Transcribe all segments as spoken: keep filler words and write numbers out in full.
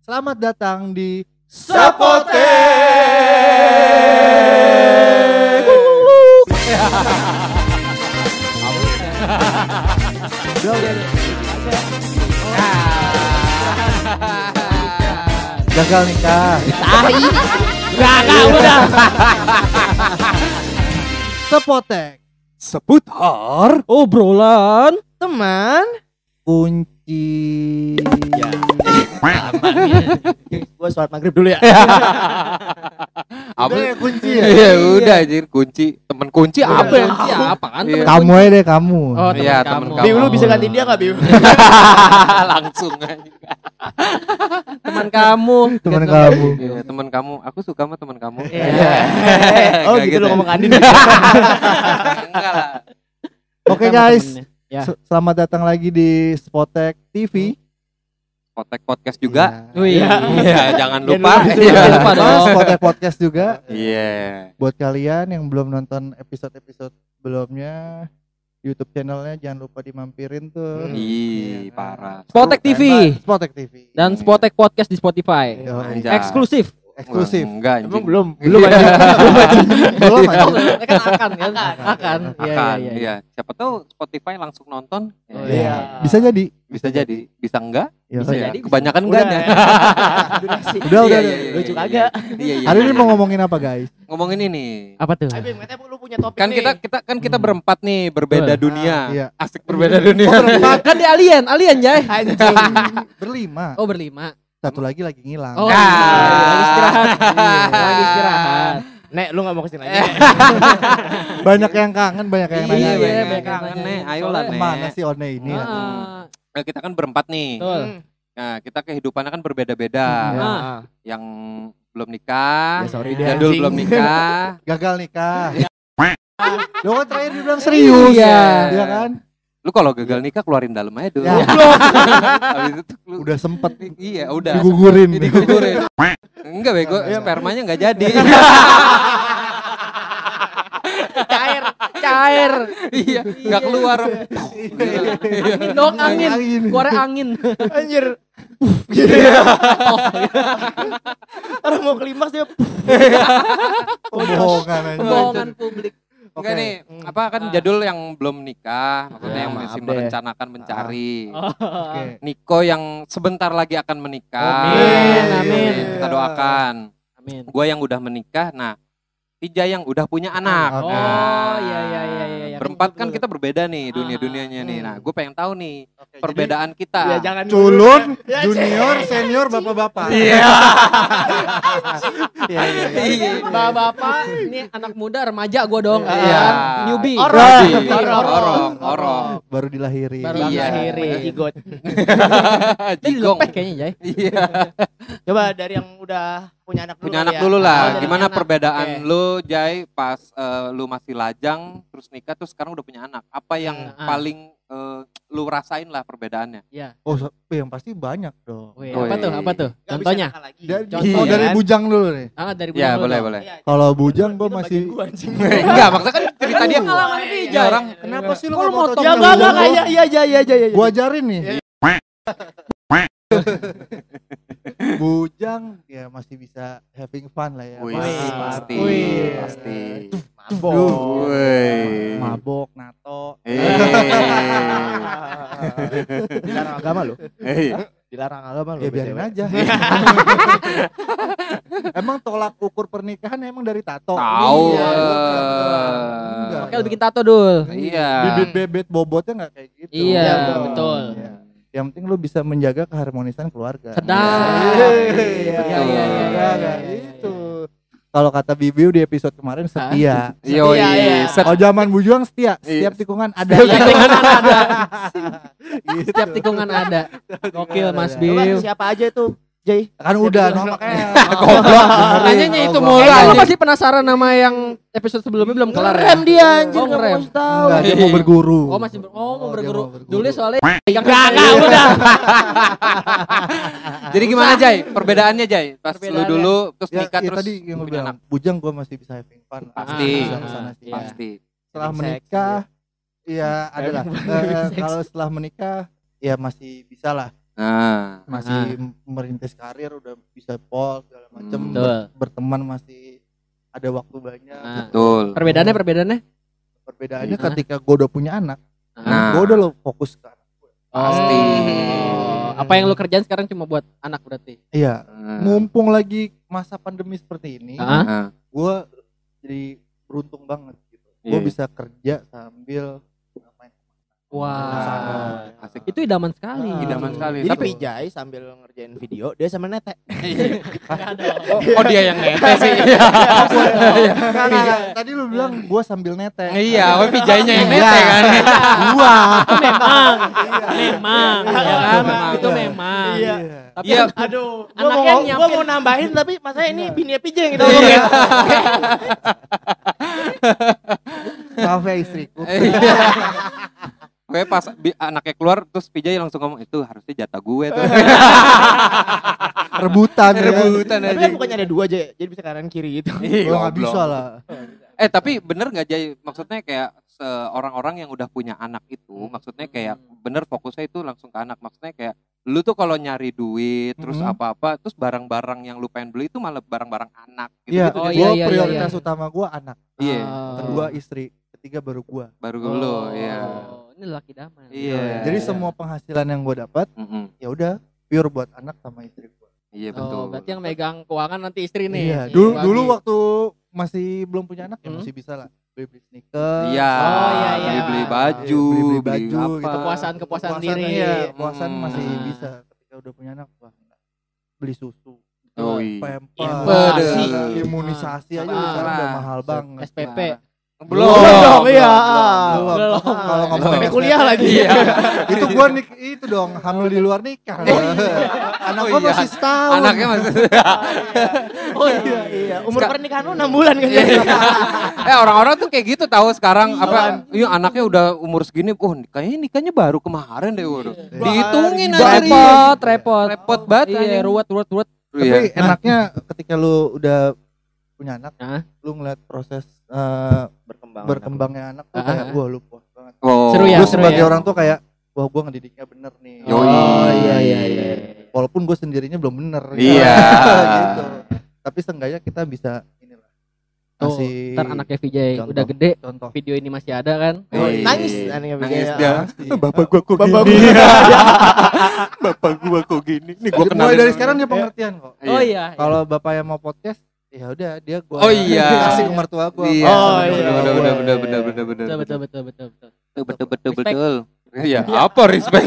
Selamat datang di Sepotek. Gagal nikah. Tai. Gagal udah. Sepotek. Seputar Obrolan teman Kunci. ya. Gua sholat maghrib dulu ya. apa Udah ya, kunci ya? Iya udah anjir kunci temen kunci apa ya? Kunci apa kan? Iya. Kamu aja deh kamu. Oh, Iya, teman temen kamu. kamu. Biu, lu bisa gantiin dia enggak, Biu? langsung aja. Teman kamu. Teman Gitu. kamu. Iya, teman kamu. Aku suka sama teman kamu. Iya. Oh, Oh, gitu lu ngomong Andin. Enggak lah. Oke Sama guys, temennya. Ya. S- selamat datang lagi di Spotek T V. Potek podcast juga. Oh iya. Iya, jangan Jangan lupa. lupa. Iya. Jangan lupa dong. Spotek Podcast juga. Iya. Buat kalian yang belum nonton episode-episode sebelumnya, YouTube channelnya jangan lupa dimampirin tuh. Hmm. Ih, Iya. parah. Spotek T V Spotek T V. dan Spotek Podcast di Spotify. Yo, Anjay. Eksklusif. eksklusif. Enggak, anjing. belum? Belum aja. Belum aja. Oh, kan akan kan? Akan. Iya, Akan, iya, iya. iya. Siapa tahu Spotify langsung nonton. Oh, Iya. Bisa jadi. Bisa jadi, bisa enggak? Ya, Bisa kan? jadi. Kebanyakan Udah, enggaknya. Durasi. Udah, udah, Iya, udah. iya, Lucu iya, kagak. Iya, iya. Hari ini iya. mau ngomongin apa guys? ngomongin ini. Apa tuh? Ayo, Bim, katanya lu punya topik Kan nih. kita kita kan kita berempat nih, berbeda Betul. dunia. Ah, iya. Asik berbeda dunia. Kan di alien, alien Jay. Berlima. Oh berlima. Satu lagi lagi ngilang. Oh, Nah. iya. Lagi istirahat. Lagi istirahat. Nek, lu gak mau kesini lagi. Banyak yang kangen, banyak yang Iya, nanya. iya, banyak banyak kangen, yang Nek. nanya. Ayolah, Soalnya Nek. Kemana sih One ini? ya? Ah, Nah, kita kan berempat nih. betul. Nah, kita kehidupannya kan berbeda-beda. Iya. Ah. Yang belum nikah, Ya, sorry deh, jadul anjing. belum nikah. Gagal nikah. Lo kan terakhir dibilang serius. Iya. Iya kan? Lu kalau gagal nikah keluarin dalam aja dulu. Ya. Habis itu lu Udah sempet iya, udah. digugurin. Digugurin. Enggak bego, spermanya enggak jadi. Cair, cair. Iya, enggak keluar. Angin dong, angin. Angin. Keluar angin. Anjir. Orang mau klimaks dia. Pembohongan aja. Pembohongan publik. Enggak Oke. nih, apa kan jadul yang belum nikah, maksudnya Ya, yang maaf masih deh. merencanakan mencari. Oke. Niko yang sebentar lagi akan menikah. Amin, amin. Kita doakan. Amin. Gua yang udah menikah, nah Tija yang udah punya anak. Oke. Oh, iya iya iya iya. Berempat kan kita berbeda nih dunia-dunianya nih. Nah, gue pengen tahu nih Oke, perbedaan Ya kita. jangan Culun, Ya, junior, senior, bapak-bapak. Iya. Iya, iya, iya. Iya. Bapak-bapak, ini anak muda remaja gua dong. Iya. kan? Newbie. Orang. Orong, Newbie. orong, orong, orong. Baru dilahiri. Baru Iya. dilahiri. Jigot. Jadi Jigong. lepek kayaknya, Jay. Iya. Coba dari yang udah punya anak dulu. Punya kali anak ya. dulu Oh, lah. dari Gimana anak. perbedaan Oke. lu, Jai, pas eh, lu masih lajang, terus nikah, terus sekarang udah punya anak. Apa yang Ah. paling eh, lu rasain lah perbedaannya? Iya. Oh, so- yang pasti banyak dong. Wih, Wih. apa tuh? Apa tuh? Nggak bisa Contohnya? nakal lagi. Dari, Contoh, oh, dari kan? bujang dulu nih. Ah, dari Ya, bujang dulu boleh, dong. boleh. Iya, Kalau bujang gue itu masih bagian gua, anjing. Enggak, maksudnya kan cerita dia Pengalaman Iya, Vijay. orang kenapa sih lu Kok lu nggak mau motong tahu Ya cerita enggak dulu? enggak iya iya iya iya iya. Gua ajarin nih. Iya. Bujang ya masih bisa having fun lah ya. Wih, Masih. pasti, Wih. pasti. Mabok. Wih. Mabok, nato. Eh. Dilarang agama lu. Eh. Dilarang agama lu. Ya biarin B T W. aja. Emang tolak ukur pernikahan emang dari tato? Tahu. Iya, eh. gua pernah- Enggak. Oke, lu bikin tato dul. Iya. Bibit bebet bobotnya nggak kayak gitu. Iya, Iya, betul. Iya. Yang penting lu bisa menjaga keharmonisan keluarga. Sedap. Iya, Iya, iya, iya, iya, iya, iya, iya, iya. itu. Kalau kata Bibiu di episode kemarin setia. Yo, Iya, iya. set. Oh zaman bujang setia, Iya. setiap tikungan ada. Setiap tikungan ada. Gitu. Setiap tikungan ada. Gokil Mas Ada. Coba Biu. siapa aja tuh, Jay? Kan udah, no, makanya. Goblok. Dengerin. Tanyanya itu Goblok. mulu, Kayaknya lu anjing. pasti penasaran sama yang episode sebelumnya belum kelar ya? Ngerem dia anjir, Oh, enggak ngerem. mau kasih tahu. Enggak, dia mau berguru. Oh masih ber- oh mau Oh, dia berguru. mau berguru. Dulu soalnya yang Enggak, udah. Jadi gimana, Jai? Perbedaannya, Jai? Pas lu Perbedaannya. dulu terus Ya, nikah ya terus tadi yang lu punya bilang, anak. bujang gua masih bisa having fun. Pasti. Bisa kesana sih. Iya. Pasti. Setelah Having sex, menikah, ya adalah. Having kalau setelah menikah, ya masih bisa lah. Nah, masih merintis karir, udah bisa pol segala macem, Hmm. Betul. ber- berteman masih ada waktu banyak. Nah. betul. Perbedaannya perbedaannya? Perbedaannya Nah. ketika gue udah punya anak, Nah. gue udah lo fokus ke anak gue. Pasti. Oh, apa yang lu kerjain sekarang cuma buat anak berarti? Iya, Nah. mumpung lagi masa pandemi seperti ini, Ah. Nah. gue jadi beruntung banget gitu. Iya, Gue iya. bisa kerja sambil main. Wah. Asik. Itu idaman sekali. Ah. Idaman sekali. Jadi Tapi Pijay sambil ngerjain video, dia sama Nete. oh, oh dia yang nete sih. Nggak, nggak. Tadi lu bilang gue sambil nete. Iya, oh pijainya yang Iya. nete kan. Gua. Itu memang. Memang, ya kan? Memang. Itu memang. Iya. Tapi Iya. Aduh, gua Anaknya mau, yang gua nyiapin. mau nambahin tapi masanya ini bini Pijay yang kita Iya. ngomongin. Maaf ya istriku. Gue pas bi- anaknya keluar terus Pijay langsung ngomong itu harusnya jatah gue tuh. Rebutan ya. Rebutan Tapi aja. kan bukannya ada dua aja, jadi bisa kanan kiri gitu. Ih, Lo nggak goblok. bisa lah. Eh tapi bener nggak Jay? Maksudnya kayak orang-orang yang udah punya anak itu, maksudnya kayak bener fokusnya itu langsung ke anak. Maksudnya kayak lu tuh kalau nyari duit, terus Mhm. apa-apa, terus barang-barang yang lu pengen beli itu malah barang-barang anak. Gitu, Iya, gitu, Oh, Jay. gue iya, iya, prioritas iya. utama gue anak, Iya, Oh. kedua istri, ketiga baru gue. baru lu, iya. Oh, ini laki daman. Iya. Jadi iya. semua penghasilan yang gue dapat, Mm-mm. ya udah pure buat anak sama istri gue. Iya Oh, betul. berarti yang megang keuangan nanti istri nih. Iya, Si dulu Wagi. dulu waktu masih belum punya anak ya Hmm. masih bisa lah beli-beli sneaker. Iya, Oh, iya, iya. beli-beli baju, Beli-beli beli baju, apa. gitu. Kepuasan-kepuasan Puasan, diri. iya, puasan Hmm. masih Ah. bisa. Ketika udah punya anak, wah, beli susu, Oh iya. pempers, Imunisasi. imunisasi aja Ah. sekarang udah Ah. mahal banget. S P P. Belum, Belum dong, iya. Belum. Belum. Kalau ngomong Belum. Sampai kuliah lagi. Iya. itu gua nik itu dong hamil di luar nikah. Anak Oh gua iya. masih setahun. Anaknya masih. Oh iya, iya. Umur pernikahan lu enam bulan kan. eh orang-orang tuh kayak gitu tahu sekarang apa? Iya anaknya udah umur segini, oh kayaknya nikahnya baru kemarin deh, waduh. Dihitungin aja. Repot, repot. Repot banget. Iya, anjing. ruwet, ruwet, ruwet. Tapi Iya. enaknya ketika lu udah punya anak, Hah? lu ngeliat proses eh, Berkembang. berkembangnya anak tuh Ah, kayak ah. wah lu puas banget. Oh. Seru ya, Gue seru sebagai ya. orang tuh kayak wah gue ngedidiknya bener nih. Yoi. Oh, iya, iya, iya. Walaupun gue sendirinya belum bener. Iya. gitu. Tapi seenggaknya kita bisa inilah. Tuh, Kasih ntar anaknya Vijay contoh. udah gede, contoh. video ini masih ada kan? Oh, Iya. nangis anaknya Nangis Pijay. dia. Pasti. Bapak gua kok Bapak gini. gua. Bapak gua kok gini. Nih gua Mulai kenalin dari dulu. sekarang dia pengertian kok. Oh iya. Kalau bapak yang mau podcast, ya udah dia gua Oh iya. kasih ke mertua gua. Iya. Oh, bener, iya, bener, iya, bener, iya. bener, bener, bener, bener. Betul, betul, betul, betul, betul. Betul, betul, betul, Respect. betul. Iya, apa respect?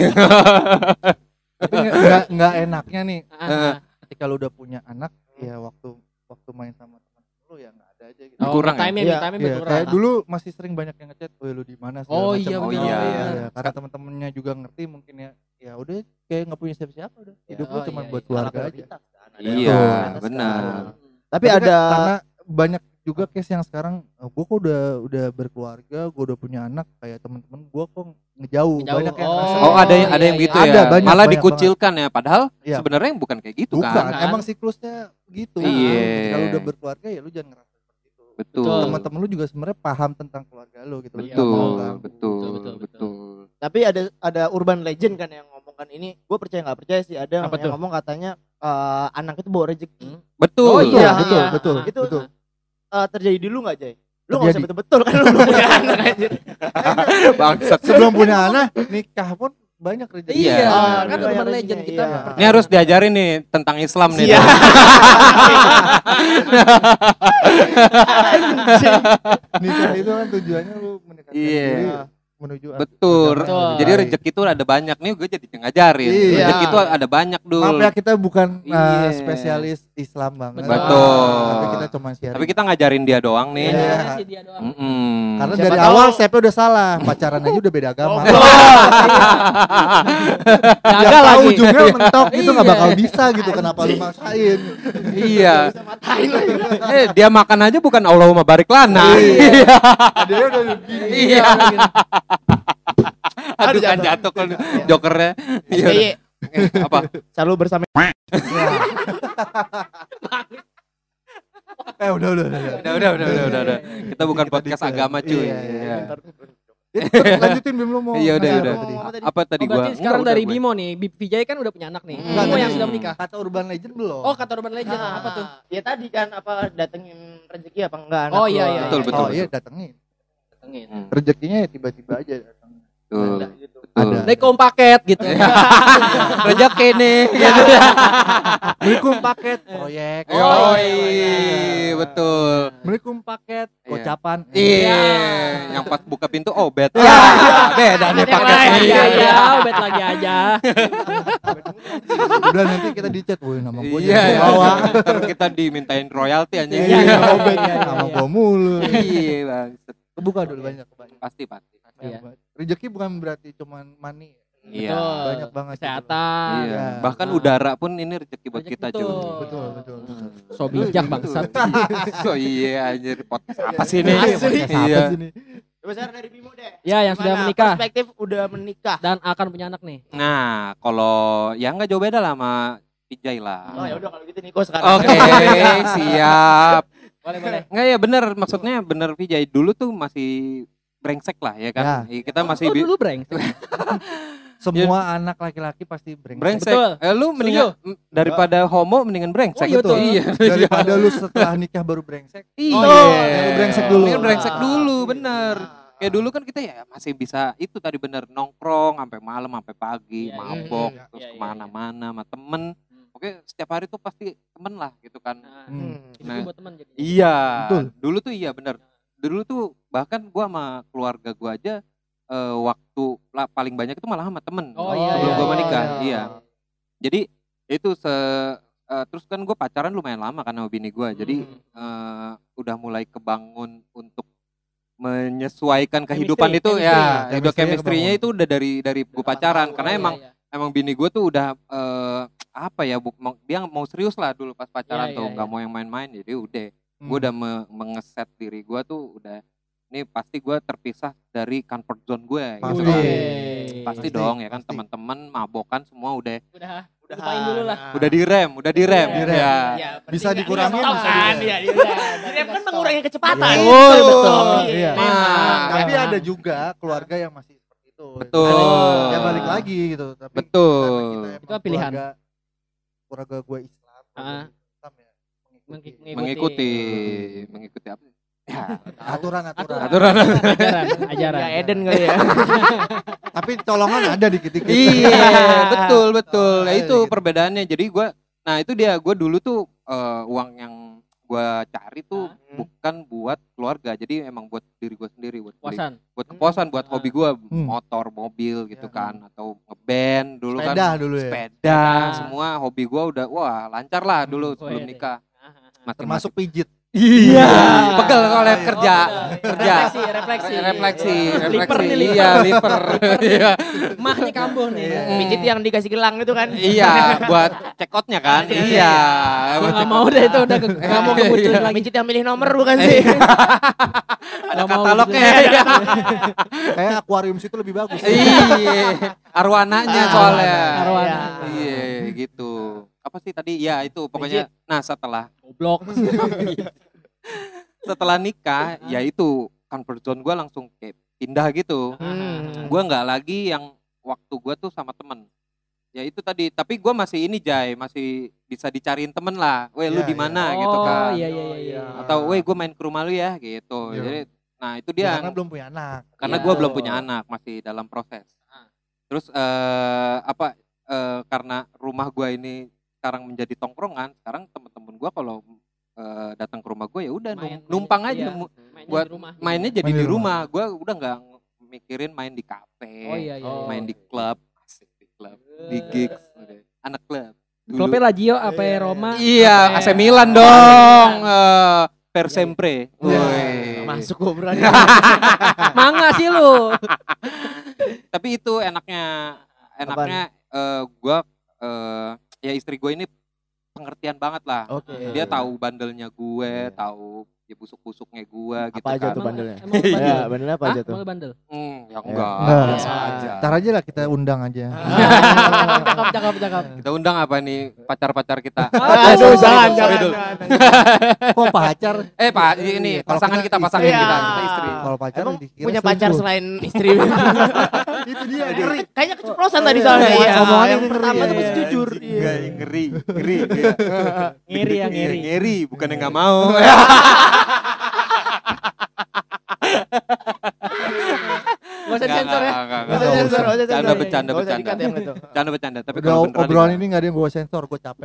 Tapi nggak- nggak nggak enaknya nih Ah, ah. ketika lu udah punya anak, ya waktu waktu main sama teman lu ya nggak ada aja gitu. Oh, Kurang ya? time Iya. time Iya, berkurang. kayak dulu masih sering banyak yang ngechat, "Woi lu di mana?" segala Oh macam. iya, Oh bener, iya. bener. Iya, karena teman-temannya juga ngerti mungkin ya. Ya udah kayak nggak punya siapa-siapa udah. Hidup lu oh cuma iya, buat iya. keluarga aja. Iya, Betul. benar. Tapi Tapi kan ada karena banyak juga case yang sekarang oh, gue kok udah udah berkeluarga, gue udah punya anak, kayak teman-teman gue kok ngejauh. Ngejauh. Banyak yang Oh. ngerasa, Oh, ada yang ada iya, yang iya. gitu Ada, ya. banyak, Malah banyak dikucilkan ya, padahal Iya. sebenarnya bukan kayak gitu bukan, kan. kan? emang siklusnya gitu. Iya. Ketika lu udah berkeluarga ya lu jangan ngerasa seperti itu. Betul. Betul. Teman-teman lu juga sebenarnya paham tentang keluarga lu gitu. Lu Iya, nggak mau Betul, ganggu. betul, Betul, betul, betul. tapi ada ada urban legend kan yang ngomongkan ini. Gue percaya nggak percaya sih ada yang, Apa yang tuh? ngomong katanya eh, anak itu bawa rezeki. Hmm. Betul. Oh Betul, iya, betul, iya. betul, Ah, Itu betul. Eh, terjadi di lu nggak Jay? Lu nggak usah Terjadi. betul-betul kan lu belum punya anak aja. Bangsat. Sebelum punya anak, nikah pun banyak rezeki. Iya, Iya. kan Iya, urban iya, legend iya. kita. Iya. percaya. Ini harus diajarin nih tentang Islam nih. Iya. Nikah itu kan tujuannya lu mendekatkan Iya. diri menuju Betul. Betul. Jadi rezeki itu ada banyak nih, gue jadi ngajarin. Iya. Rezeki itu ada banyak dulu. Maaf ya kita bukan uh, Iya. spesialis Islam banget. Betul. Tapi kita cuma sharing. Tapi kita ngajarin dia doang nih. Iya. Iya, sih dia doang. Mm-mm. Karena Siapa dari tahu- awal stepnya udah salah, pacaran aja udah beda agama. Oh, Ya Gagal tahu lagi. ujungnya mentok gitu nggak Iya. bakal bisa gitu. Kenapa lu maksain? Iya. Bisa matain lagi. Eh dia makan aja bukan Allahumma barik lana. Iya. Dia udah begini. Iya. Aduh Aduh, kan jatuh. jatuh kan jokernya. Iya. S B Y Eh, Apa? selalu bersama. Eh udah udah udah. udah. Udah udah udah udah udah. udah. Kita bukan Kita podcast dikit. agama cuy. Iya, iya, Iya. Dia Lanjutin Bim lu mau. Iya udah nanya udah. apa tadi? Ngomong apa tadi? Apa tadi Oh, gua? berarti sekarang Enggak, dari udah gue. Bimo nih, Bib Vijay kan udah punya anak nih. Enggak, Bimo yang tadi. sudah menikah. Kata urban legend belum. Oh, kata urban legend Nah, apa tuh? Ya tadi kan apa datengin rezeki apa enggak anak Oh, lu. iya, iya, Betul, iya. betul. Oh iya datengin. Datengin. Hmm, Rezekinya ya tiba-tiba aja datang. Betul. Ada gitu. Ada. Betul. Naik kom paket gitu. Rezeki nih. Belikum paket proyek. Oh, Oh, iya, iya. betul. Belikum paket Iya. gocapan. Iya, yang pas buka pintu oh bed. Ya, beda nih Yang lain paketnya. lagi Iya, iya. aja, bet lagi aja. Udah nanti kita di chat, woi nama gua Iya, jangan bawa. ntar kita dimintain royalti aja. Iya, iya, obet iya, iya, nama iya. gua mulu. Iya, Bang. Kebuka dulu banyak banyak. Pasti pasti. Iya. Rezeki bukan berarti cuman money. Iya. Betul. Banyak banget gitu. Kesehatan. Iya. Iya. Bahkan Ah. udara pun ini rezeki buat Rezeki kita, betul. cuy. Betul, betul. betul. So bijak bangsat. So iya anjir podcast apa sih ini? Iya, podcast apa Iya. sih ini? Coba share dari Bimo deh. Ya, yang sudah Gimana menikah Perspektif udah menikah. dan akan punya anak nih. Nah, kalau ya nggak jauh beda lah sama Vijay Oh lah. ya udah kalau gitu Niko sekarang. Oke, siap. Boleh, boleh. Nggak ya bener, maksudnya bener Vijay. Dulu tuh masih brengsek lah ya kan. Iya, kita masih Oh, bi- dulu breng. Semua anak laki-laki pasti brengsek. brengsek. Betul. Eh, lu mendingan m- daripada homo mendingan brengsek. Oh, iya, betul. Iya. Daripada lu setelah nikah baru brengsek. Iya. Oh, iya. Lu brengsek dulu. Mendingan brengsek dulu, Ah. bener. Kayak dulu kan kita ya masih bisa itu tadi bener nongkrong sampai malam sampai pagi, Iya, iya. mabok Iya, terus iya, iya. kemana-mana sama temen. Hmm. Oke, setiap hari tuh pasti temen lah gitu kan. Nah, Hmm. Hmm. itu Nah, buat teman jadi. Iya, Betul. dulu tuh iya bener. Dulu tuh bahkan gua sama keluarga gua aja eh, waktu lah, paling banyak itu malah sama temen. Oh, iya, sebelum iya, gua iya, menikah, iya. iya. Jadi itu se eh, terus kan gue pacaran lumayan lama kan sama bini gue. Jadi Hmm. eh, udah mulai kebangun untuk menyesuaikan kehidupan Chemistry, itu chemistry. ya, Chemistry-nya udah chemistry-nya kebangun. itu udah dari dari gue Udah pacaran lama, karena Iya, emang iya. emang bini gue tuh udah eh, apa ya bu, mau- dia mau serius lah dulu pas pacaran Iya, tuh iya, nggak iya. mau yang main-main jadi udah Hmm. gue udah me- mengeset diri gue tuh udah ini pasti gue terpisah dari comfort zone gue Pasti. gitu. Wih. pasti Pasti, dong ya kan pasti. teman-teman mabokan semua udah Udah, Udah lupain dulu lah. udah direm udah direm Direm. ya Ya, Bisa penting dikurangin, nggak bisa kan? direm. Iya, iya, udah. Direm kan mengurangi kecepatan. Iya. Betul, betul. Iya. Nah, Tapi memang. ada juga keluarga yang masih seperti itu. Betul. Ya balik lagi gitu. Tapi Betul. karena kita emang Itu pilihan. Keluarga, keluarga gue Islam. keluarga Ah. Islam ya. Mengik- Mengikuti mengikuti mengikuti apa ya aturan-aturan. aturan Ajaran, ajaran. Ya Eden kali ya. Tapi colongan ada dikit-dikit. iya betul betul ya Ah, itu gitu. perbedaannya jadi gue nah itu dia gue dulu tuh eh, uang yang gue cari tuh Ah. bukan buat keluarga jadi emang buat diri gue sendiri buat beli- Puasan. buat kepuasan buat Ah. hobi gue Hmm. motor mobil gitu Ya. kan atau ngeband dulu Sepeda kan dulu ya. sepeda Sepeda. semua hobi gue udah wah lancar lah dulu Hmm, sebelum wede. nikah masih Termasuk pijit. iya Iya. pegel kalau Iya. kerja Oh, kerja Refleksi, refleksi. refleksi Liper refleksi nih, liper. iya liver iya Mah nih kambuh nih. Iya. Pijit yang dikasih gelang itu kan. iya buat cekotnya kan Iya. iya Gua buat nggak cekot. mau deh itu udah ke- nggak mau kemunculan lagi. Pijit yang milih nomor bukan sih? ada Nggak mau katalognya gitu. iya. Kayak akuarium situ lebih bagus. iya arwananya Ah, soalnya Arwana. iya gitu apa sih tadi ya itu pokoknya nah setelah Goblok. setelah nikah ya itu comfort zone gue langsung kayak pindah gitu Hmm. gue nggak lagi yang waktu gue tuh sama temen ya itu tadi tapi gue masih ini Jay masih bisa dicariin temen lah weh lu Iya, di iya. mana gitu Oh, kan iya iya iya. atau weh gue main ke rumah lu ya gitu Iya. jadi nah itu Ya, dia karena belum punya anak. karena Iya. gue belum punya anak masih dalam proses Ah. terus eh, apa eh, karena rumah gue ini sekarang menjadi tongkrongan sekarang temen-temen gue kalau eh, datang ke rumah gue ya udah Main- num- numpang main- aja iya. nemu- Mainnya buat di rumah. mainnya jadi Main di di rumah gue udah nggak mikirin main di kafe Oh iya iya. Oh. main di klub asik di klub di gigs udah. Anak klub dulu. Klubnya Lazio apa Iya, Roma? iya apa- A C Milan dong eh, per Iya, sempre Iya. Woi. Masuk gue berani. Manga sih lu. tapi itu enaknya enaknya eh, gue eh, ya istri gue ini pengertian banget lah Oke. dia tahu bandelnya gue Iya. tahu ya busuk-busuknya gua gitu Apa aja kan. tuh bandelnya? Emang lu bandel? Ya, bandelnya apa Hah? aja tuh? Emang lu bandel? Hmm, ya Ya. enggak, Enggak. biasa aja. Ntar aja lah kita undang aja. cakep, cakep, cakep, cakep. Kita undang apa nih pacar-pacar kita? Aduh, jangan, Sorry jangan. dulu. jangan. Kok pacar? Eh Pak, ini Kalau pasangan kita kita, pasangan istri. kita, Iya. kita istri. Kalau pacar Emang dikira punya pacar selingkuh. selain istri? Itu dia. Ngeri. Kayaknya keceplosan tadi soalnya. Iya, Iya, omongannya yang ngeri. pertama tuh Iya, mesti jujur. Enggak, ngeri, ngeri. Iya. Ngiri ya, ngiri. Iya, ngeri, bukannya enggak mau. Gak usah sensor ya. Enggak, Gak usah sensor, gak usah Bercanda, sensor. bercanda, Gak usah bercanda. dikat yang itu. Bercanda, bercanda. Tapi Udah kalau beneran obrolan itu- ini gak ada yang gue sensor, gue capek.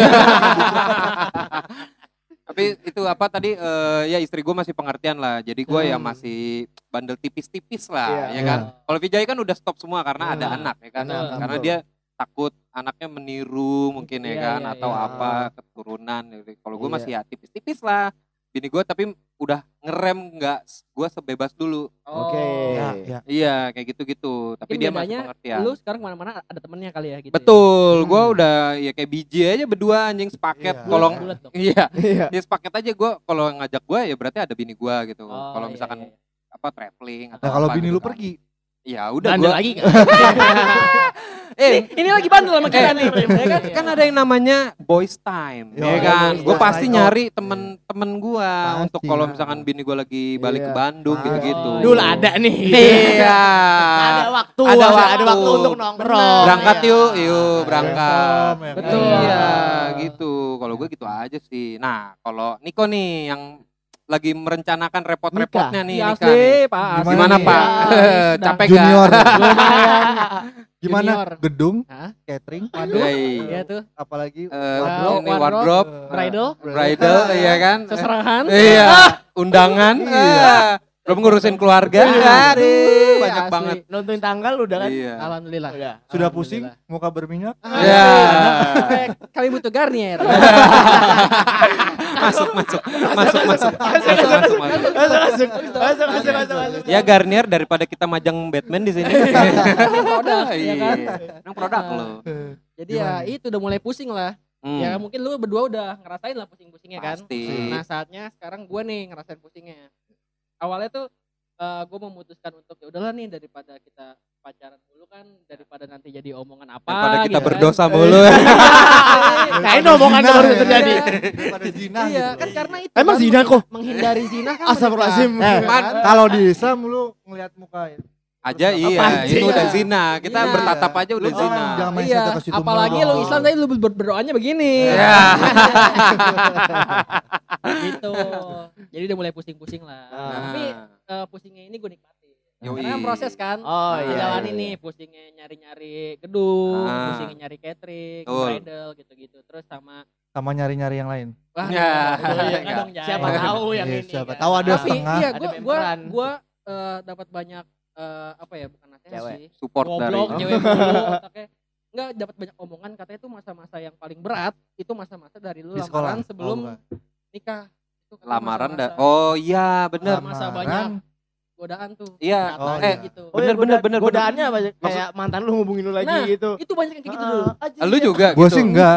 Tapi itu apa tadi eh, ya istri gue masih pengertian lah. Jadi gue ya Hmm. masih bandel tipis-tipis lah, Iya. ya kan. Iya. Kalau Vijay kan udah stop semua karena ada Hmm. anak, ya kan. Betul. Karena Betul. dia takut anaknya meniru mungkin ya Iya, kan, iya, atau iya. apa keturunan. Jadi Kalau gue Iya. masih ya tipis-tipis lah. Bini gue tapi udah ngerem nggak, gue sebebas dulu. Oke. Ya, ya. Iya kayak gitu-gitu. Tapi Mungkin dia masih bedanya pengertian. Lu sekarang kemana-mana ada temennya kali ya gitu. Betul, gue Hmm. udah ya kayak biji aja berdua anjing sepaket. Iya. Kalau Ya. Bulat dong. iya, Iya. dia sepaket aja gue. Kalau ngajak gue ya berarti ada bini gue gitu. Oh, Kalau iya, misalkan iya. apa traveling atau Nah kalau apa bini gitu lu kan. pergi, Ya udah Bandel gue. lagi kan. Eh, Ini lagi bandel sama kita Eh, nih. Ya kan? kan ada yang namanya boys time, Yo, ya iya, kan? boys Gue time. pasti Oh. nyari temen-temen gue Pasti. untuk kalau misalkan bini gue lagi balik Iya. ke Bandung Pasti. gitu-gitu. Dulu ada nih. Iya. Ada waktu, Ada ada, waktu. ada waktu untuk nongkrong. Berangkat Iya. yuk, yuk berangkat. Besom, ya kan? Betul. Iya, gitu. Kalau gue gitu aja sih. Nah, kalau Niko nih yang lagi merencanakan repot-repotnya nih Iya nikah nih. asli, Pak. asli. Gimana Gimana nih? Pak? Ya, Capek gak? Junior. Lumayan. Gimana? Junior. Gedung, Hah? catering, Waduh. Hey. Iya tuh. apalagi Eh, wardrobe, ini wardrobe, Bridal. bridal, iya kan? Seserahan. Iya, undangan. Iya. Ah, belum ngurusin keluarga. Iya. Aduh, banyak Asli. banget. Nonton tanggal udah kan? Iya. Alhamdulillah. Udah. sudah pusing, muka berminyak. Iya. Eh, Kami butuh Garnier. Masuk, masuk, masuk, masuk, masuk, masuk, masuk. Masuk, masuk, masuk, masuk, masuk, masuk. Ya Garnier daripada kita majang Batman di sini. Produk, ya Iya. kan? Emang produk lo. Jadi ya itu udah mulai pusing lah. Hmm. Ya mungkin lu berdua udah ngerasain lah pusing-pusingnya kan. Pasti. Nah saatnya sekarang gue nih ngerasain pusingnya. Awalnya tuh gue memutuskan untuk ya udahlah nih daripada kita pacaran dulu kan, daripada nanti jadi omongan apa. Daripada kita gitu berdosa kan. mulu. Kayaknya omongan Zina baru ya. terjadi. Daripada zina Iya gitu. kan karena itu. Emang kan, zina kok? menghindari zina kan. Astagfirullahaladzim. Eh, Man. kalau di Islam lu ngelihat muka ya. Aja iya, Apaan sih? itu udah zina. Kita Iya. bertatap aja udah Lu zina. jangan- jangan main Iya, situ ke situ apalagi mulu lu dong. Islam tadi lu ber- berdoanya begini. Ya. Gitu. Jadi udah mulai pusing-pusing lah. Ah. Tapi eh, pusingnya ini gue nikmatin. Yoi. Karena kan proses kan. Oh iya. Jalanin iya. nih pusingnya nyari-nyari gedung, Ah. pusingnya nyari catering, Betul. bridal gitu-gitu. Terus sama Sama nyari-nyari yang lain. wah, Ya. betul, iya, Enggak. enggak dong, Jai. Siapa Oh, tahu yang iya, ini. siapa kan. tahu ada Tapi setengah. iya Ada gua gua memberan. gua eh, dapat banyak eh, apa ya bukan nasihat Cewek. sih. Support dari. Goblok, cewek mulu otaknya. Enggak dapat banyak omongan katanya itu masa-masa yang paling berat itu masa-masa dari lu Di sekolah. lamaran sebelum Oh, enggak. nikah. Itu katanya Lamaran dah. masa-masa Oh iya, bener. Masa Lamaran. banyak godaan tuh. Iya. Katanya Oh, iya. gitu. Oh iya, Bener, bener, goda- bener, Godaannya apa? Maksud- Kayak mantan lu hubungin lu lagi Nah, gitu. Itu banyak yang kayak gitu Ah, dulu. aja. Lu juga Gue gitu. sih enggak.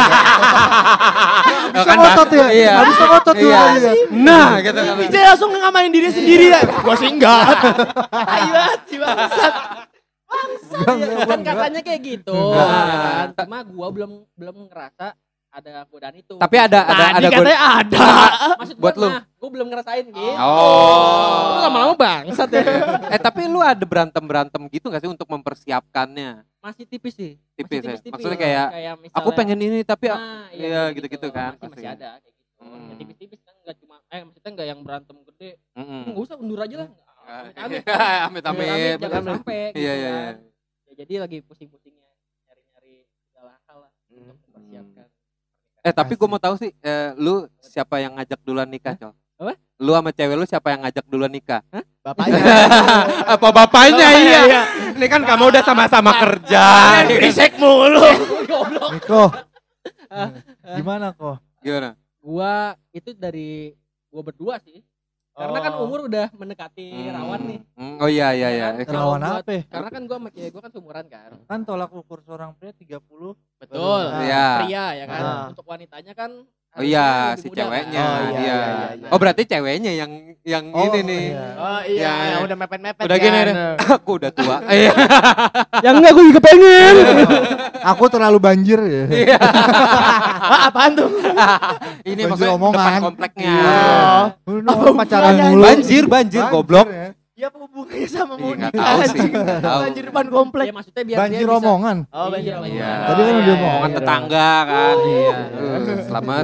Oh, Bisa kan, ngotot ya? Iya. Nggak bisa ngotot tuh. Iya. dia. Nah, gitu kan. Vijay langsung ngamain diri sendiri ya. Gua sih enggak. Ayo banget sih bangsat. Enggak, enggak, Kan enggak. katanya kayak gitu. Enggak. ya kan? Cuma gua belum belum ngerasa ada godaan itu. Tapi ada ada Tadi ada katanya ada. Maksud buat gua, lu. nah, gua belum ngerasain gitu. Oh. Lu lama-lama bangsat ya. Eh tapi lu ada berantem-berantem gitu gak sih untuk mempersiapkannya? Masih tipis sih. Tipis Masih ya? Maksudnya kayak, misalnya, Aku pengen ini tapi nah, iya, gitu-gitu kan, Masih, masih pasti. ada kayak gitu. Hmm. Ya, tipis-tipis kan enggak cuma eh maksudnya enggak yang berantem gede. Mm-mm. Enggak usah undur aja lah. Amit-amit. Amit-amit. Amit-amit, jangan Bener. sampai gitu Iya, iya, kan. Ya, jadi lagi pusing-pusingnya nyari-nyari segala hal lah untuk mempersiapkan. Eh tapi gue mau tahu sih, eh, lu siapa yang ngajak duluan nikah, Col? Apa? Lu sama cewek lu siapa yang ngajak duluan nikah? Bapaknya. Apa bapaknya? Iya. Ini kan kamu udah sama-sama kerja. Berisik mulu. Goblok. Niko. Gimana kok? Gimana? Gua itu dari gua berdua sih. Karena kan Oh. umur udah mendekati Hmm. rawan nih. Hmm, Oh iya iya iya. Kan? Rawan Kalau buat- apa? Karena kan gua sama cewek gua kan seumuran kan. Kan tolak ukur seorang pria tiga puluh. Betul. Nah, Iya. Pria ya kan. Ah. Untuk wanitanya kan Oh iya, Lebih si muda, ceweknya. kan? Oh, iya, iya. iya, iya. Oh berarti ceweknya yang yang Oh, ini nih. iya. Oh iya, Ya, yang ya. udah mepet-mepet Udah gini kan. deh. Aku udah tua. Iya. Yang enggak gue juga pengen. Aku terlalu banjir ya. Iya. Wah, apaan tuh? Ini Banjir maksudnya omongan. depan kompleknya. Oh. Udah Oh, pacaran bukan, mulu. Banjir, banjir, goblok. ya. Ya apa hubungannya sama Ih, mau nggak nikah tahu sih, anjing? nggak tahu. Banjir depan komplek. Ya maksudnya biar Banjir dia bisa. omongan. Oh, banjir Iya, omongan. iya. Tadi kan udah iya, ngomong. Omongan iya. tetangga kan. Iya. Uh, Selamat.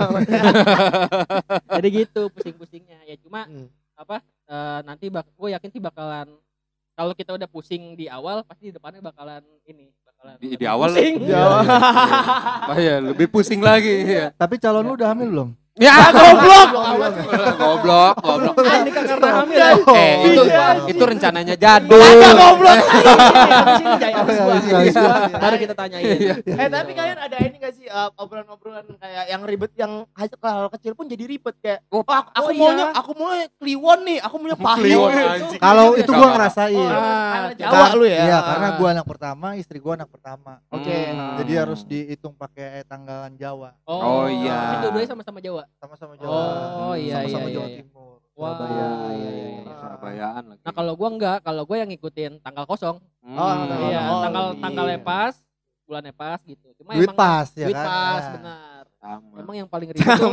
Jadi gitu pusing-pusingnya. Ya cuma Hmm. apa eh, nanti bak gue yakin sih bakalan kalau kita udah pusing di awal pasti di depannya bakalan ini bakalan Di, di lebih awal. pusing. Di awal. Oh iya, lebih pusing lagi. Iya. Tapi calon lu udah hamil belum? Ya, goblok. Goblok, goblok. Ah, ini kan karena hamil ya. Eh, itu Iya. itu rencananya jadul. Ada goblok. Habis ini Jai, habis gua. Iya, iya, iya. Baru kita tanyain. Eh tapi kalian ada ini gak sih uh, obrolan-obrolan kayak yang ribet yang hal kecil pun jadi ribet kayak Oh, oh, aku, aku oh, maunya iya. aku mau kliwon nih, aku maunya pahit. Kliwon, gitu. anjing. Kalau Iya, itu iya. gua Nggak, ngerasain. Ah, Karena Jawa Kar- lu ya. Iya, karena gua anak pertama, istri gua anak pertama. Oke. Hmm. Jadi harus dihitung pakai tanggalan Jawa. Oh, iya. Itu dua sama-sama Jawa. Sama-sama Jawa. Oh, iya, Sama-sama iya, Jawa iya. Timur. Wah, Surabaya. iya, iya, iya. Surabayaan lagi. Nah, kalau gua enggak, kalau gua yang ngikutin tanggal kosong. Hmm. Oh, tanggal Iya, Oh, tanggal iya. tanggalnya pas, bulannya pas gitu. Cuma Duit emang pas ya duit kan. pas, Ya. benar. Sama. Emang yang paling ribet tuh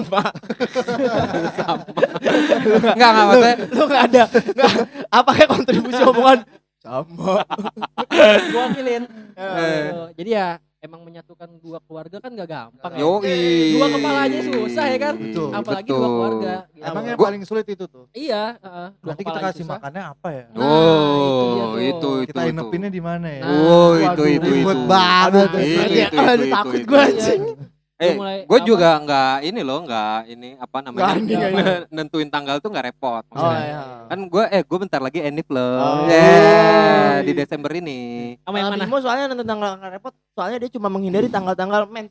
Enggak, enggak maksudnya. Lu gak ada gak, apa kayak kontribusi omongan sama. gua wakilin. Eh. Gitu. Jadi ya emang menyatukan dua keluarga kan gak gampang ya. Yoi. Dua kepala aja susah ya kan? Betul. Apalagi Betul. dua keluarga. Gitu. Emang yang Gua- paling sulit itu tuh. Iya, heeh. Dua Nanti kita kepala aja kasih susah. makannya apa ya? Nah, itu dia Oh, tuh. itu itu Kita itu. inepinnya di mana ya? Nah, Oh, itu waduh, itu itu. ribet banget. Itu, Aduh, itu, aduh, itu, takut itu, gua itu. anjing. Eh, mulai gue apa? juga nggak ini loh, nggak ini apa namanya? Nggak ini, nggak ini. Nentuin tanggal tuh nggak repot. Oh maksudnya. iya. Kan gue eh gue bentar lagi enif loh. Oh. Yeah, di Desember ini. Sama yang Kalau mana? Bimo soalnya nonton tanggal nggak repot, soalnya dia cuma menghindari tanggal-tanggal mens.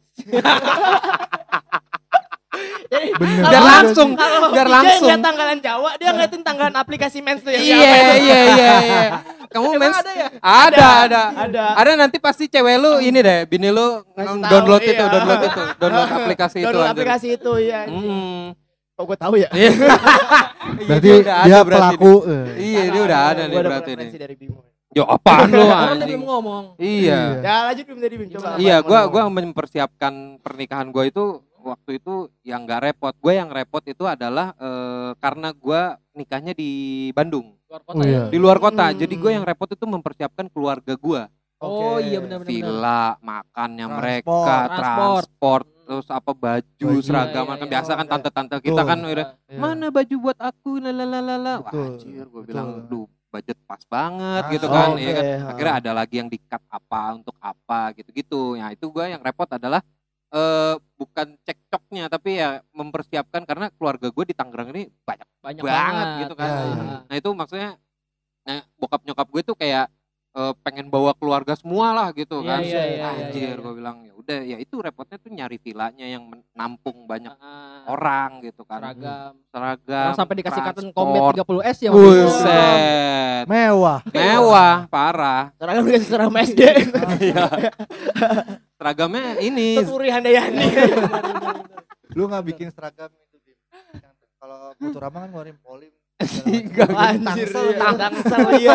Jadi Bener. kalau- Biar langsung, kalau biar dia langsung. ngeliat tanggalan Jawa, dia ngeliatin tanggalan aplikasi mens tuh ya. Iya iya iya iya. Kamu mens ada ya? Ada ada. Ada. Ada nanti pasti cewek lu ini deh, bini lu Ngasih tahu, download itu, iya. download itu, download aplikasi itu. Download anjir. aplikasi itu ya. Hmm. Kok gue tahu ya? Iya. Berarti Iya, udah dia ada berarti pelaku. nih. eh. Iya, dia udah ada nih Gua berarti nih. referensi dari Bimo. Yo apaan lu Orang tadi anjing? mau ngomong. Iya. Ya lanjut Bimo dari Bimo coba. apa Iya, yang gua mau gua ngomong? mempersiapkan pernikahan gua itu waktu itu yang nggak repot. Gue yang repot itu adalah eh, karena gua nikahnya di Bandung, Luar kota Oh, ya. iya. di luar kota. Hmm. Jadi gue yang repot itu mempersiapkan keluarga gua. Oh Oke. iya benar-benar. Villa, makannya Transport. mereka, Transport. transport, terus apa baju, Baju. seragam, Iya, kan iya, biasa kan iya. tante-tante kita Betul. kan udah, Iya. mana baju buat aku, lalalala. Wah, Betul, anjir, gue betul. bilang, duh, budget pas banget Ah, gitu oh, kan, oke, ya kan. ha. Akhirnya ada lagi yang di-cut apa untuk apa gitu-gitu. Ya itu gue yang repot adalah eh bukan cekcoknya, tapi ya mempersiapkan karena keluarga gue di Tangerang ini banyak Banyak banget banget gitu kan. Iya, iya. Ah. Nah itu maksudnya, nah, bokap nyokap gue tuh kayak eh, pengen bawa keluarga semua lah gitu Iya, kan. iya, iya, iya, Anjir, iya. gue bilang ya udah ya itu repotnya tuh nyari villanya yang menampung banyak Ah, orang gitu kan. seragam. Seragam. Orang sampai dikasih cotton transport. combat tiga puluh S ya. waktu itu. Buset. Mewah. Mewah, parah. Seragam dikasih seragam S D. Iya. Seragamnya ini. Tuturi handayani. Lu nggak bikin seragam itu Bim. Kalau Futurama kan ngeluarin polim. Enggak, Anjir, Tangsel iya. gitu. Tangsel iya.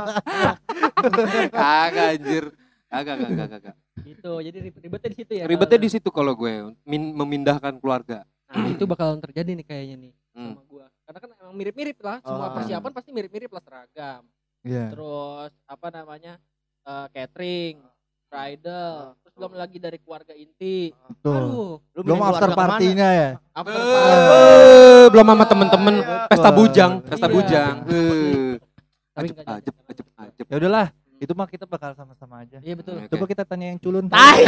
Kagak anjir. Kagak, kagak, kagak. Gitu. Jadi ribet- ribetnya di situ ya. Ribetnya kalau- di situ kalau gue min- memindahkan keluarga. Nah, itu bakalan terjadi nih kayaknya nih Hmm. sama gua. Karena kan emang mirip-mirip lah, semua Oh. persiapan pasti mirip-mirip lah, seragam. Iya. Terus apa namanya? eh, catering, bridal, terus belum lagi dari keluarga inti. Betul. Aduh, Lu Belum mending after keluarga kemana? partinya ya. after Eh, party. belum sama temen-temen pesta Wah. bujang, pesta Iya. bujang. Eh. Tapi Ajep, nggak jadi. ajep, ajep, ajep. Ya udahlah, itu mah kita bakal sama-sama aja. Iya betul. Oke. Coba kita tanya yang culun. Tai.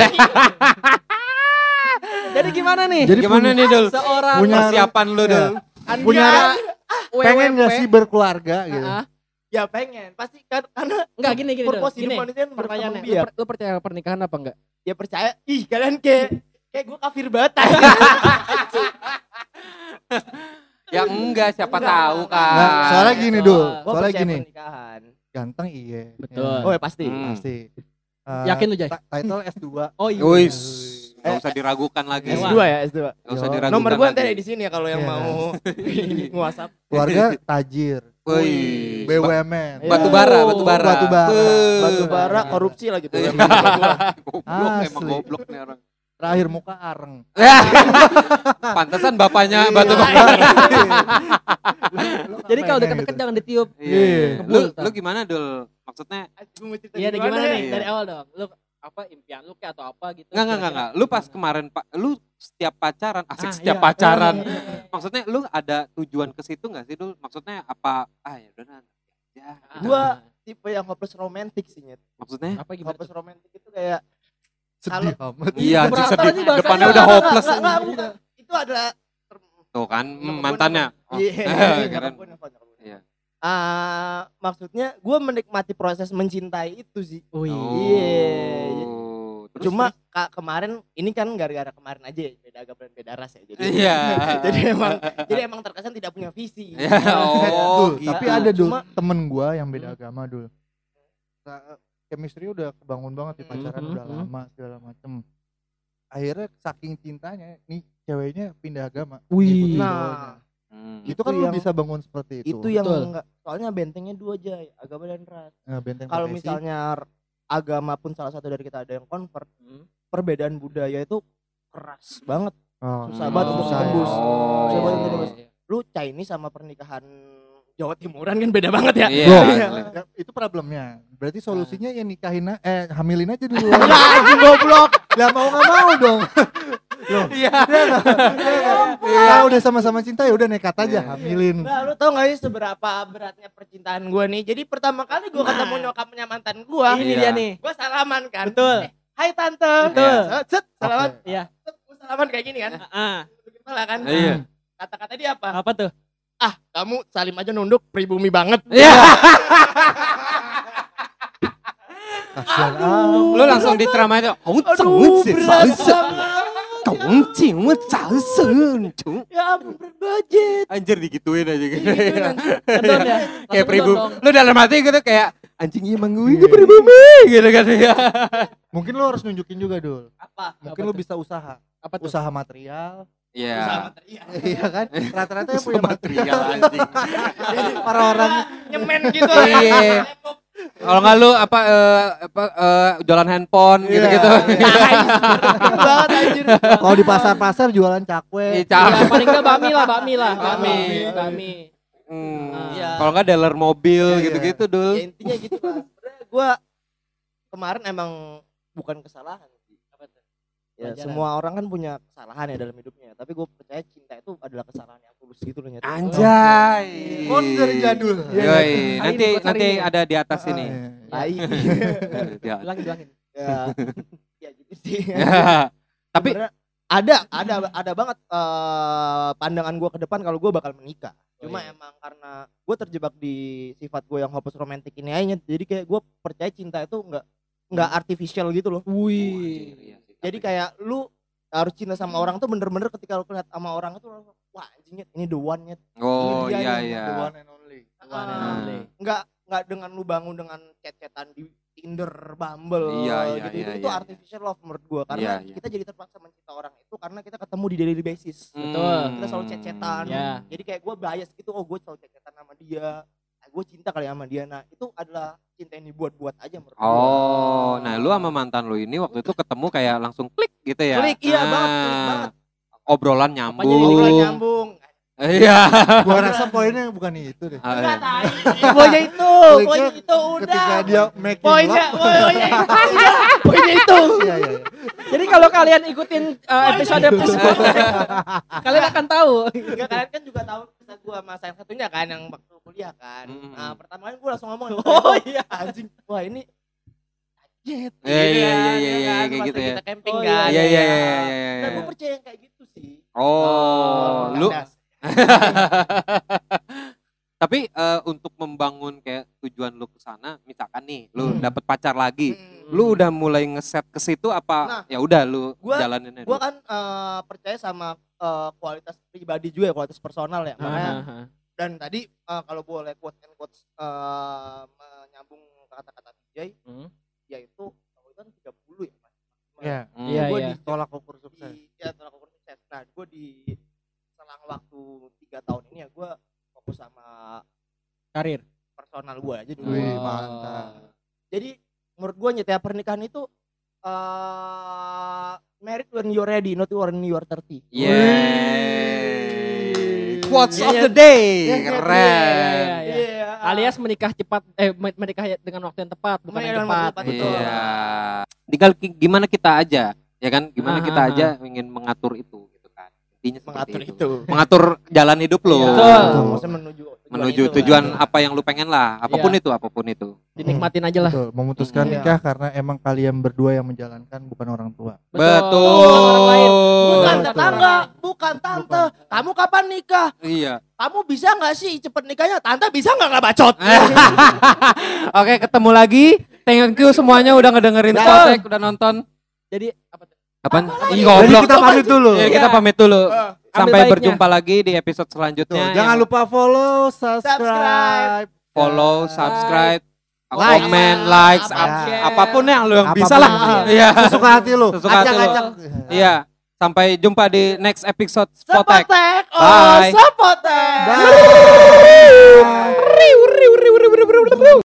Jadi gimana nih? Jadi Gimana punya- nih, Dul? Seorang Punya- Persiapan lu, Iya. Dul. Punya pengen W W P. gak sih berkeluarga gitu? Ah, ah. Ya pengen, pasti kan karena Enggak gini gini. Dul. purpose Gini. hidup manusia kan Pertanyaannya, berkembang lu, biak. per- lu percaya pernikahan apa enggak? Ya percaya, ih kalian kayak kayak gue kafir banget. Ya enggak, siapa Enggak, tahu enggak, kan. Nggak, soalnya gini Betul. dul, Gua soalnya percaya gini, pernikahan. ganteng iya. Betul. Oh ya pasti. Hmm. Pasti. Eh, Yakin lu, Jay? ta- Title S dua. Oh iya. Wis, Gak usah diragukan lagi. Ewa. S dua ya, S dua. Gak usah Yo. diragukan Nomor gua nanti lagi. ada di sini ya kalau yang Iya. mau nge-WhatsApp. Keluarga tajir. Wih. B U M N. Iya. Batu bara, batu bara. Batu bara. Beuh. Batu bara korupsi lagi tuh. Iya. Goblok Asli. emang goblok nih orang. Terakhir muka areng. Pantesan bapaknya Iya. batu bara. Jadi kalau pengen deket-deket gitu. jangan ditiup. Iya. Ngebul, Lu Tam. lu gimana Dul? Maksudnya Gua mau cerita Iya, deh, gimana gimana ya? nih Iya. dari awal dong. Lu apa impian lu kayak atau apa gitu? enggak enggak enggak kira-kira enggak. Lu pas gimana? kemarin Pak, lu setiap pacaran, asik Ah, setiap iya. pacaran. Iya, iya, iya. Maksudnya lu ada tujuan ke situ enggak sih Dul? Maksudnya apa? Ah ya udah nah. Ya. Ah, Gua tipe yang hopeless romantic sih, Nyet. Maksudnya? apa gimana? Hopeless tuh? romantic itu kayak Sedih amat. Iya, anjing Keberatan sedih. nih bahasanya. Depannya udah Enggak, enggak, hopeless. enggak, enggak, anjing. bukan. Itu adalah Tuh kan Nyokap hmm, gua mantannya. nelfon. Oh. Iya, keren. nyokap gua nelfon, nyokap gua. Iya. Ah, maksudnya gue menikmati proses mencintai itu sih. Wih. Iya. Oh, terus, Cuma Kak, kemarin ini kan gara-gara kemarin aja ya, beda agama dan beda ras ya. Jadi Iya. jadi emang jadi emang terkesan tidak punya visi. Ya, oh, Dul, gitu. tapi ada dul Cuma- temen gua yang beda Hmm. agama dul. Nah, chemistry udah kebangun banget di Hmm, pacaran hmm, udah hmm. lama segala macem. Akhirnya saking cintanya nih ceweknya pindah agama. Wih. ngikutin Nah, cowoknya. Hmm. itu itu kan lu yang- bisa bangun seperti itu. itu yang Betul. enggak, soalnya bentengnya dua aja, agama dan ras. Nah, benteng Kalau profesi. misalnya r- agama pun salah satu dari kita ada yang convert, Hmm. perbedaan budaya itu keras banget. Oh, susah banget untuk susah ya. tembus. Oh, Susah iya, banget iya, untuk iya. Lu Chinese sama pernikahan Jawa Timuran kan beda banget ya. Iya, Bro, asli. ya, itu problemnya. Berarti solusinya ya nikahin a- eh hamilin aja dulu. Anjing goblok. Lah mau nggak mau dong. Loh, Iya. Kalau udah sama-sama cinta ya udah nekat aja Iya. hamilin. Nah, lu tau gak sih seberapa beratnya percintaan gue nih? Jadi pertama kali gue ketemu nyokapnya mantan gue, Ini Iya. dia nih. gue salaman kan. Betul. Eh, hai tante. Betul. Set, set, salaman. Oke. Iya. Gue salaman kayak gini kan. Ah, Kepala kan. Iya. Kata-kata dia apa? apa tuh? Ah, kamu salim aja nunduk pribumi banget. Iya. Kasian Aduh. ah. Lu langsung diceramah itu. Kau Aduh, berat banget. Ya ampun, berat budget. Anjir digituin aja gitu. Digituin, anjing. Kedon ya. Kayak Langsung pribumi. kedon dong. Lu dalam hati gitu kayak anjing emang gue Iya. gue pribumi gitu kan ya. Mungkin lu harus nunjukin juga dul. Apa? Mungkin Apa lu tuh? bisa usaha. Apa tuh? Usaha material. Iya. Usaha material. Iya kan? Rata-rata yang Usaha punya material anjing. orang-orang Nyemen gitu. Iya. Kalau nggak lu apa eh, apa eh, jualan handphone Iya, gitu-gitu. iya. Berat banget anjir. kalau di pasar-pasar jualan cakwe. Iya, Cak. Ya, paling enggak bami lah, bami lah. Bami. Bami. Hmm. Iya. Kalau nggak dealer mobil Iya, iya. gitu-gitu dul. Ya intinya gitu lah. Sebenarnya gue kemarin emang bukan kesalahan sih. Apa tuh? Ya, Pelajaran. semua orang kan punya kesalahan ya dalam hidupnya. Tapi gue percaya cinta itu adalah kesalahan yang tulus gitu loh. Nyata. Anjay. Quotes dari jadul. Yoi, Hari nanti ini, quotes hari nanti ini. ada di atas sini. Ah, iya. Tai. Ya. Bilangin, bilangin. ya, ya gitu sih. Tapi Sebenarnya ada ada ada banget eh, pandangan gue ke depan kalau gue bakal menikah. Oh, Cuma iya. emang karena gue terjebak di sifat gue yang hopeless romantic ini aja. Jadi kayak gue percaya cinta itu nggak nggak artificial gitu loh. Wih. Jadi kayak lu harus cinta sama orang tuh bener-bener ketika lu lihat sama orang itu langsung, wah anjingnya ini the one nya. oh Ini dia iya nih, iya. The one and only. One and Ah. only. Nggak nggak dengan lu bangun dengan chat-chatan di Tinder, Bumble, Iya, iya, gitu, iya, itu iya. artificial love menurut gua karena Iya, iya. kita jadi terpaksa mencinta orang itu karena kita ketemu di daily basis. Betul. Kita selalu chat-chatan. Ya. Jadi kayak gua bias gitu, oh gua selalu chat-chatan sama dia. Nah, gue cinta kali sama dia. Nah, itu adalah cinta yang dibuat-buat aja menurut gua. Oh, nah lu sama mantan lu ini waktu itu ketemu kayak langsung klik gitu ya? Klik, iya Ah, banget, klik banget. Obrolan jadi nyambung. Obrolan nyambung. Iya. Gua rasa poinnya bukan itu deh. Ah, Enggak iya. tahu. Poinnya itu, Kliknya poinnya itu udah. Ketika dia making Poinnya, love. poinnya itu, iya, poinnya itu. Iya iya. iya. Jadi kalau kalian ikutin uh, episode episode kalian akan tahu. Enggak, kalian kan juga tahu kisah gua sama yang satunya kan yang waktu kuliah kan. Mm-mm. Nah, pertama kali gua langsung ngomong, Oh, iya anjing. Wah, ini jet. Iya, iya, iya, iya, iya, kayak gitu ya. Kita camping Oh, kan. Iya iya iya ya. iya. Nah, iya. gua percaya yang kayak gitu sih. Oh, lu Kandas. tapi eh, untuk membangun kayak tujuan lu ke sana, misalkan nih lu Hmm. dapet pacar lagi, Hmm. lu udah mulai ngeset ke situ apa Nah, ya udah lu gua- jalanin aja. Gua kan eh, percaya sama eh, kualitas pribadi juga ya, kualitas personal ya. Makanya Nah, dan tadi eh, kalau boleh quote and quotes eh, menyambung ke kata-kata Vijay, Hmm. yaitu kalau itu kan tiga puluh ya Mas. Iya. Hmm. Iya, Gue iya. di Tolak ukur sukses. di, ya tolak ukur sukses. Nah gue di selang waktu tiga tahun ini ya gue fokus sama Karir. personal gue aja dulu. Wih, Oh. mantap. Jadi menurut gue nyetia pernikahan itu uh, married when you're ready, not when you're thirty. Yeah. Quotes Iya, of iya. the day. Iya, iya, Keren. Iya, iya. Iya. Alias menikah cepat eh men- menikah dengan waktu yang tepat, bukan Menikah yang dengan waktu cepat. yang tepat, betul. Iya. Tinggal ki- gimana kita aja, ya kan? Gimana Ah, kita ah, aja ingin mengatur itu gitu kan. Intinya seperti Mengatur itu. itu. Mengatur jalan hidup lo. Iya. Betul. Betul. Maksudnya menuju tujuan Menuju itu, tujuan kan. apa yang lu pengen lah, apapun Iya. itu, apapun itu. Dinikmatin aja lah. Betul, memutuskan Hmm. nikah karena emang kalian berdua yang menjalankan, bukan orang tua. Betul. Orang lain. Bukan Betul. tetangga, bukan tante. Kamu kapan nikah? Iya. Kamu bisa nggak sih cepet nikahnya? Tante bisa nggak nggak bacot? Oke, ketemu lagi. Thank you semuanya udah ngedengerin Betul. Spotek, udah nonton. Jadi apa tuh? Kapan? lagi? Ih, Jadi goblok. kita pamit dulu. Ya, kita Iya. pamit dulu. Eh, Sampai ambil baiknya. berjumpa lagi di episode Tuh, selanjutnya. jangan yang lupa follow, subscribe, Subscribe. follow, subscribe, Like. komen, likes, Apa, ap- share. apapun yang lu yang Apapun bisa lah. yang- Iya. Sesuka hati lu. Sesuka hati lu. Acak-acak. Iya. Sampai jumpa di next episode Spotek. Spotek, oh Bye. Spotek. Bye.